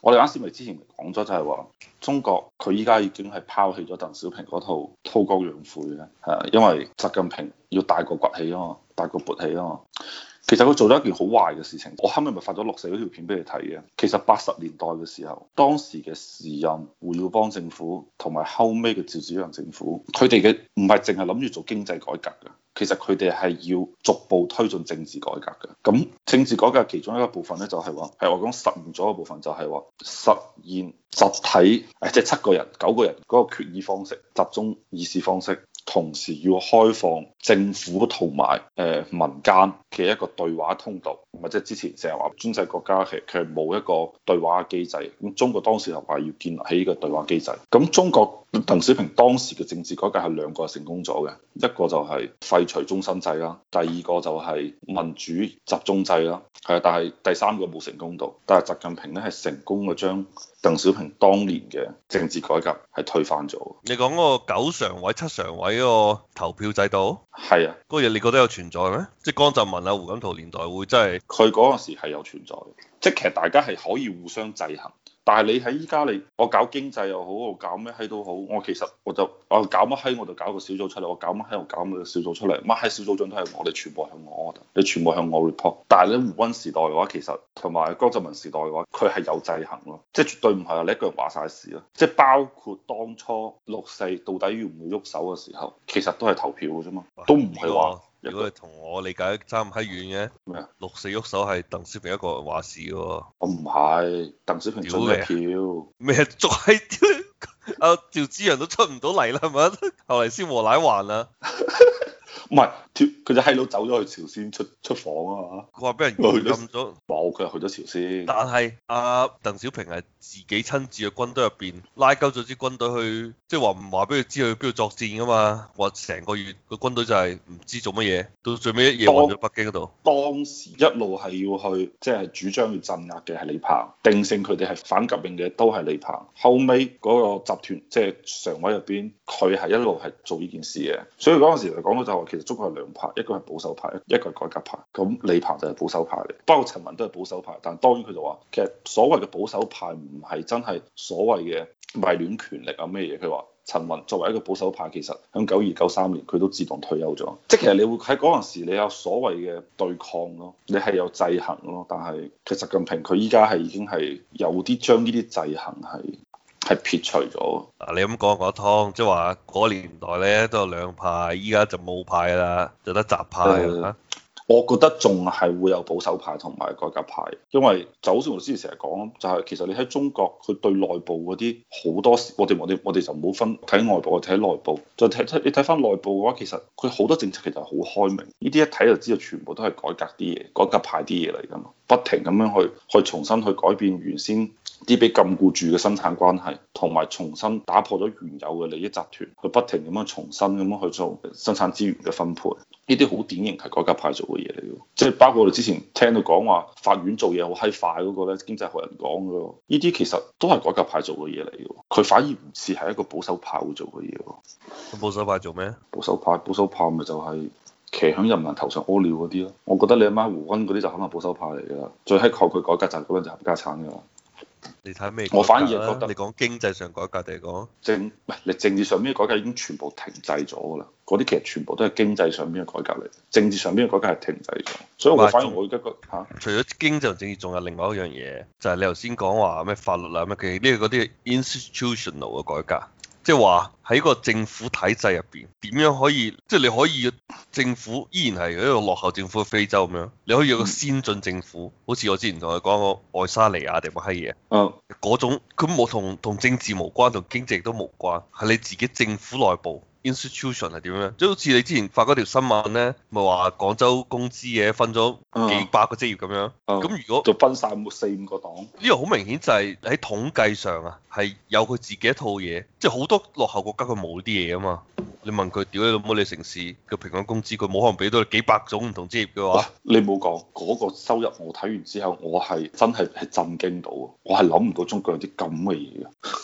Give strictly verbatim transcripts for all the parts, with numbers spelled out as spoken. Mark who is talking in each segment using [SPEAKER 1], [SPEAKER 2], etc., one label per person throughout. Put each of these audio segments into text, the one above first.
[SPEAKER 1] 我哋啱先咪之前咪講咗，就係話中國佢依家已經係拋棄咗鄧小平嗰套韜光養晦嘅，係因為習近平要大國崛起啊嘛，大國勃起啊嘛。其實佢做咗一件好壞嘅事情，我後尾咪發咗六四嗰條片俾你睇嘅。其實八十年代嘅時候，當時嘅時任胡耀邦政府同埋後尾嘅趙紫陽政府，佢哋嘅唔係淨係諗住做經濟改革嘅，其實佢哋係要逐步推進政治改革嘅。咁政治改革其中一個部分咧，就係話係我講實現咗嘅部分，就係話實現集體誒，即係七個人、九個人嗰個決議方式、集中議事方式。同時要開放政府同埋誒民間嘅一個對話通道，或者之前成日話專制國家其實佢係冇一個對話嘅機制，咁中國當時就話要建立起呢個對話機制。咁中國鄧小平當時嘅政治改革係兩個成功咗嘅，一個就係廢除終身制啦，第二個就係民主集中制啦，係，但係第三個冇成功到，但係習近平咧係成功嘅將鄧小平當年嘅政治改革係推翻咗。
[SPEAKER 2] 你講嗰個九常委、七常委嗰個投票制度，
[SPEAKER 1] 係啊，
[SPEAKER 2] 嗰個嘢你覺得有存在咩？即係江澤民啊、胡錦濤年代會真係？
[SPEAKER 1] 佢嗰陣時係有存在嘅，即係其實大家係可以互相制衡。但係你喺依家你我搞經濟又好，我搞咩閪都好，我其實我就我搞乜閪我就搞個小組出嚟，我搞乜閪我搞個小組出嚟，乜閪小組長都係我哋全部向我，你全部向我 report。但係咧胡溫時代嘅話，其實同埋江澤民時代嘅話，佢係有制衡咯，即係絕對唔係話你一個人話晒事咯。即係包括當初六四到底要唔要喐手嘅時候，其實都係投票嘅啫嘛，都唔係話。
[SPEAKER 2] 如果係同我理解差唔閪遠嘅，
[SPEAKER 1] 咩啊？
[SPEAKER 2] 六四喐手係鄧小平一個人話事嘅喎。
[SPEAKER 1] 我唔係，鄧小平出嘅票。
[SPEAKER 2] 咩捉閪屌？阿趙紫陽都出唔到嚟啦，係咪？後嚟先和奶還啊。
[SPEAKER 1] 唔係，佢就閪佬走咗去朝鮮出出訪啊嘛。
[SPEAKER 2] 佢話俾人軟禁咗。
[SPEAKER 1] 冇，佢係去咗朝鮮。
[SPEAKER 2] 但係阿鄧小平係自己親自去軍隊入邊拉鳩咗支軍隊去，即係話唔話俾佢知去邊度作戰噶嘛。話成個月個軍隊就係唔知做乜嘢，到最尾一夜運咗北京嗰度。
[SPEAKER 1] 當時一路係要去，即係主張要鎮壓嘅係李鵬，定性佢哋係反革命嘅都係李鵬。後尾嗰個集團即係常委入邊，佢係一路係做呢件事嘅。所以嗰陣時嚟講到就話，其實中國係兩派，一個係保守派，一個係改革派。咁李鵬就係保守派嚟，包括陳雲都係保守派。但係當然佢就話，其實所謂嘅保守派唔係真係所謂嘅迷戀權力啊咩嘢。佢話陳雲作為一個保守派，其實喺九二九三年佢都自動退休咗。即係其實你會喺嗰陣時，你有所謂嘅對抗咯，你係有制衡咯。但係其實習近平佢依家係已經係有啲將呢啲制衡係係撇除咗。
[SPEAKER 2] 嗱，你咁講講得通，即係話嗰年代咧都有兩派，依家就冇派啦，就得習派啊。
[SPEAKER 1] 我覺得仲係會有保守派同埋改革派，因為就好似我之前成日講，就係其實你喺中國，佢對內部嗰啲好多時，我哋我哋我哋就唔好分睇外部，我睇內部，再睇睇你睇翻內部嘅話，其實佢好多政策其實係好開明，呢啲一睇就知道全部都係改革啲嘢，改革派啲嘢嚟㗎嘛，不停咁樣去去重新去改變原先啲被禁錮住嘅生產關係，同埋重新打破咗原有嘅利益集團，去不停咁樣重新咁樣去做生產資源嘅分配。呢啲好典型係改革派做嘅嘢嚟嘅，即係包括我哋之前聽到講話法院做嘢好閪快嗰個咧，經濟學人講嘅，呢啲其實都係改革派做嘅嘢嚟嘅，佢反而唔似係一個保守派會做嘅嘢。
[SPEAKER 2] 咁保守派做咩？
[SPEAKER 1] 保守派保守派咪就係騎喺人民頭上屙尿嗰啲咯。我覺得你阿媽胡溫嗰啲就可能保守派嚟㗎，最閪抗拒改革就係嗰陣就冚家產㗎啦。
[SPEAKER 2] 你睇咩？
[SPEAKER 1] 我反而係覺得
[SPEAKER 2] 你講經濟上改革定係講
[SPEAKER 1] 政唔係你政治上邊嘅改革已經全部停滯咗㗎啦。嗰啲其實全部都係經濟上邊嘅改革嚟，政治上邊嘅改革係停滯咗。所以我反而我而家覺嚇，
[SPEAKER 2] 啊、除咗經濟同政治，仲有另外一樣嘢，就係、是、你頭先講話咩法律啊咩嘅，呢個嗰啲 institutional 嘅改革，即係話喺個政府體制入邊點樣可以，即、就、係、是、你可以政府依然係一個落後政府嘅非洲咁樣，你可以有個先進政府，好似我之前同佢講個愛沙尼亞定乜閪嘢，
[SPEAKER 1] 嗯，
[SPEAKER 2] 嗰種佢冇同同政治無關，同經濟都無關，係你自己政府內部。institution 係點樣？即係好似你之前發嗰條新聞咧，咪話廣州公資嘅分咗幾百個職業咁樣。咁、嗯、如果
[SPEAKER 1] 就分晒四五個黨，
[SPEAKER 2] 呢個好明顯就係喺統計上啊，係有佢自己一套嘢。即係好多落後國家佢冇啲嘢啊嘛。你問佢屌你老母，你城市嘅平均工資，佢冇可能俾到你幾百種唔同職業嘅話。
[SPEAKER 1] 你冇講嗰個收入，我睇完之後，我係真係係震驚到，我係諗唔到中國有啲咁嘅嘢嘅。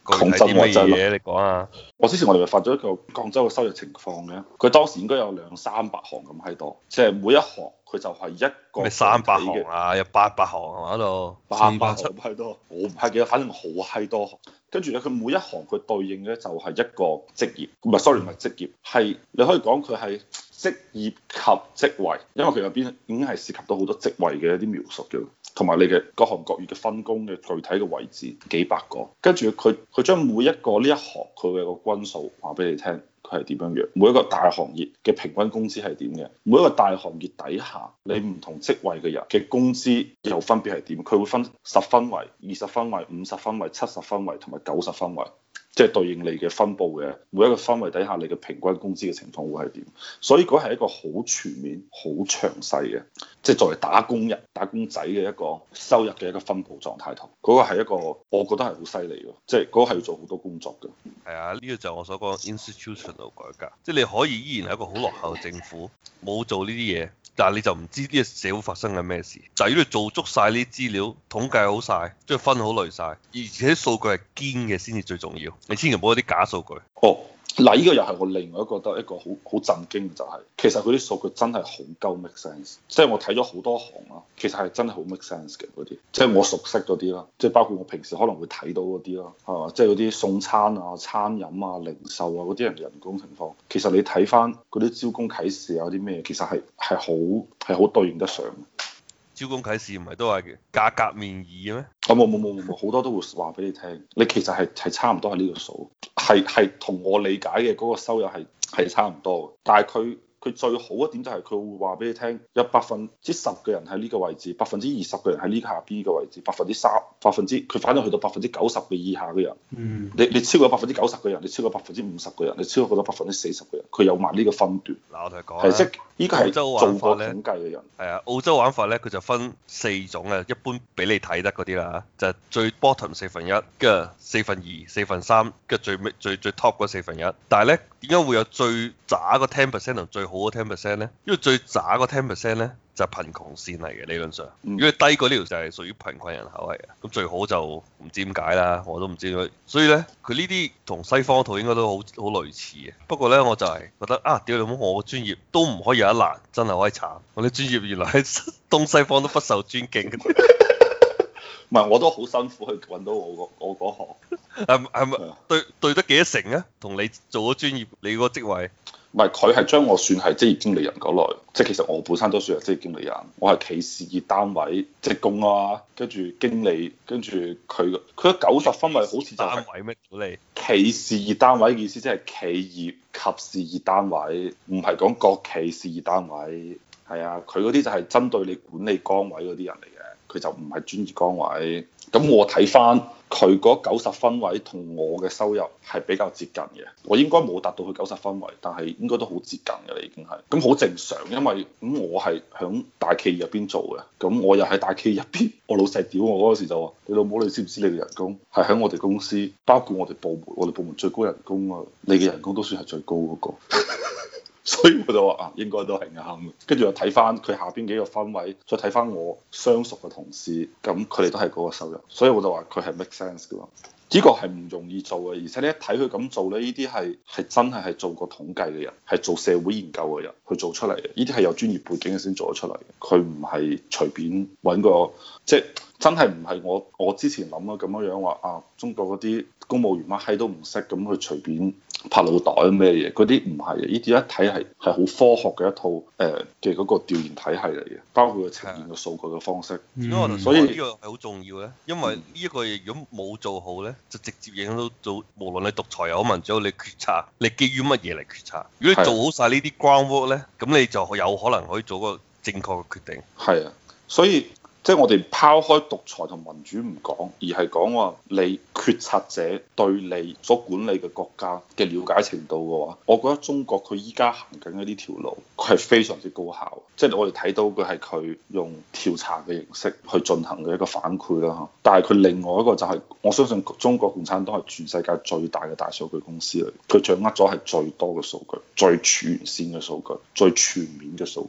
[SPEAKER 2] 具體啲乜嘢？你講啊！
[SPEAKER 1] 我之前我哋咪發咗一個廣州嘅收入情況嘅，佢當時應該有兩三百行咁閪多，即係每一行佢就係一個
[SPEAKER 2] 咩三百行啊？有八百行係嘛度？
[SPEAKER 1] 八百行咁閪多，我唔係記得，反正好閪多行。跟住咧，佢每一行佢對應嘅就係一個職業，唔係 sorry 唔係職業，係你可以講佢係職業及職位，因為佢入邊已經係涉及到好多職位嘅一啲描述嘅。同埋你嘅各行各業嘅分工嘅具體嘅位置幾百個，跟住佢佢將每一個呢一行佢嘅個均數話俾你聽，佢係點樣樣，每一個大行業嘅平均工資係點嘅，每一個大行業底下你唔同職位嘅人嘅工資又分別係點，佢會分十分位、二十分位、五十分位、七十分位同埋九十分位。即係對應你嘅分佈嘅每一個分位底下，你嘅平均工資嘅情況會係點？所以嗰係一個好全面、好詳細嘅，即係作為打工人、打工仔嘅一個收入嘅一個分佈狀態圖。嗰個係一個，我覺得係好犀利嘅，即係嗰個係要做好多工作嘅。
[SPEAKER 2] 係啊，呢個就係我所講 institutional 改革，即係你可以依然係一個好落後嘅政府，冇做呢啲嘢。但係你就唔知呢個社會發生緊咩事，就係如果你做足晒呢啲資料，統計好晒，即係分好類晒，而且數據係堅嘅先至最重要。你千祈唔好有啲假數據。
[SPEAKER 1] 哦，嗱，呢個又係我另外一個覺得一個好好震驚嘅就係、是，其實佢啲數據真係好夠 make sense。即係我睇咗好多行啦，其實係真係好 make sense 嘅嗰啲，即係我熟悉嗰啲啦，即係包括我平時可能會睇到嗰啲啦，係嘛？即係嗰啲送餐啊、餐飲啊、零售啊嗰啲人人工情況，其實你睇翻嗰啲招工啟事啊啲咩，其實係係好係好對應得上。
[SPEAKER 2] 招工啟事唔係都係價格面議嘅咩？
[SPEAKER 1] 啊冇冇冇冇冇，好多都會話俾你聽，你其實係係差唔多係呢個數，係係同我理解嘅嗰個收入係係差唔多嘅，但係佢。佢最好一點就係佢會話俾你聽，有百分之十嘅人喺呢個位置，百分之二十嘅人喺呢下邊呢個位置，百分之三、百分之佢反正去到百分之九十嘅以下嘅人，嗯，你你超過百分之九十嘅人，你超過百分之五十嘅人，你超過咗百分之四十嘅人，佢有埋呢個分段。
[SPEAKER 2] 嗱，我同你講，
[SPEAKER 1] 係即依個係
[SPEAKER 2] 澳洲
[SPEAKER 1] 做
[SPEAKER 2] 玩法咧，
[SPEAKER 1] 過統計嘅人。
[SPEAKER 2] 係啊，澳洲玩法咧，佢就分四種嘅，一般俾你睇得嗰啲啦，就係、是、最 bottom 四分一，跟住四分二、四分三，跟住最尾最最 top 嗰四分一。但係咧，點解會有最渣個 ten percent 同最好嘅 ten percent 咧？因為最渣個 ten percent 咧就係、是、貧窮線嚟嘅理論上，如果低過呢條就係屬於貧困人口嚟嘅，咁最好就唔知點解啦，我都唔知點解。所以咧，佢呢啲同西方套應該都好好類似嘅。不過咧，我就係覺得啊，屌你冇我個專業都唔可以有一難，真係可以慘。我啲專業原來喺東西方都不受尊敬。
[SPEAKER 1] 唔係，我都好辛苦去揾到我個我嗰行。
[SPEAKER 2] 係係咪對對得幾多成啊？同你做咗專業，你個職位？
[SPEAKER 1] 唔係，佢係將我算係職業經理人嗰類，即係其實我本身都算係職業經理人，我係企事業單位職工啊，跟住經理，跟住佢佢九十分位好似就係
[SPEAKER 2] 單位咩？你
[SPEAKER 1] 企事業單位嘅意思即係企業及事業單位，唔係講國企事業單位。係啊，佢嗰啲就係針對你管理崗位嗰啲人嚟嘅，佢就唔係專業崗位。咁我睇翻佢嗰九十分位同我嘅收入係比較接近嘅，我應該冇達到佢九十分位，但係應該都好接近嘅啦，已經係。咁好正常，因為咁我係響大企業入邊做嘅，咁我又喺大企業入邊，我老細屌我嗰時就話：你老母，你知唔知你嘅人工係喺我哋公司，包括我哋部門，我哋部門最高人工啊，你嘅人工都算係最高嗰個。所以我就話啊，應該都係啱嘅。跟住又睇翻佢下邊幾個分位，再睇翻我相熟嘅同事，咁佢哋都係嗰個收入，所以我就話佢係 make sense 嘅。呢個係唔容易做嘅，而且你一睇佢咁做咧，呢啲係係真係係做過統計嘅人，係做社會研究嘅人去做出嚟嘅。呢啲係有專業背景嘅先做得出嚟嘅，佢唔係隨便揾個，即係真係唔係我我之前諗啊咁樣樣話啊，中國嗰啲公務員乜閪都唔識，咁去隨便拍腦袋咩嘢？嗰啲唔係嘅，呢啲一睇係係好科學嘅一套誒嘅嗰個調研體系嚟嘅，包括佢呈現嘅數據嘅方式。
[SPEAKER 2] 嗯、所以呢個係好重要咧，因為呢一個嘢如果冇做好咧，就直接影響到做無論你獨裁又好民主，你決策你基於乜嘢嚟決策？如果你做好晒呢啲 groundwork 咧，咁你就有可能可以做個正確嘅決定。
[SPEAKER 1] 係啊，所以。即係我哋拋開獨裁同民主唔講，而係講話你決策者對你所管理嘅國家嘅了解程度嘅話，我覺得中國佢依家行緊嘅呢條路，佢係非常之高效。即係我哋睇到嘅係佢用調查嘅形式去進行嘅一個反饋啦嚇。但係佢另外一個就係，我相信中國共產黨係全世界最大嘅大數據公司嚟，佢掌握咗係最多嘅數據、最全線嘅數據、最全面嘅數據。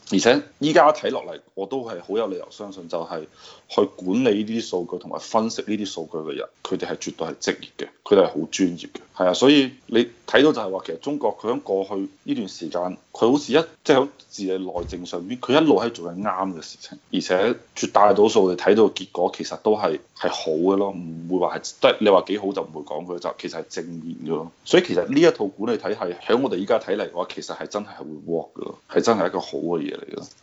[SPEAKER 1] 而且依家睇落嚟，我都係好有理由相信，就係去管理呢啲數據同埋分析呢啲數據嘅人，佢哋係絕對係職業嘅，佢哋係好專業嘅。係啊，所以你睇到就係話，其實中國佢喺過去呢段時間，佢好似一即係喺治理內政上邊，佢一路喺做緊啱嘅事情，而且絕大多數你睇到嘅結果其實都係係好嘅咯，唔會話係即係你話幾好就唔會講佢，就其實係正面嘅咯。所以其實呢一套管理體系喺我哋依家睇嚟嘅話，其實係真係係會 work 嘅咯，係真係一個好嘅嘢嚟嘅。